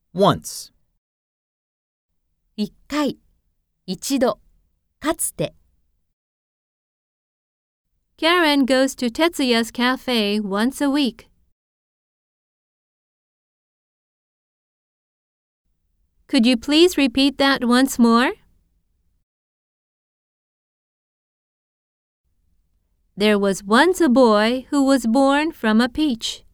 once, 一回、一度、かつて。Karen goes to Tetsuya's cafe once a week. Could you please repeat that once more? There was once a boy who was born from a peach.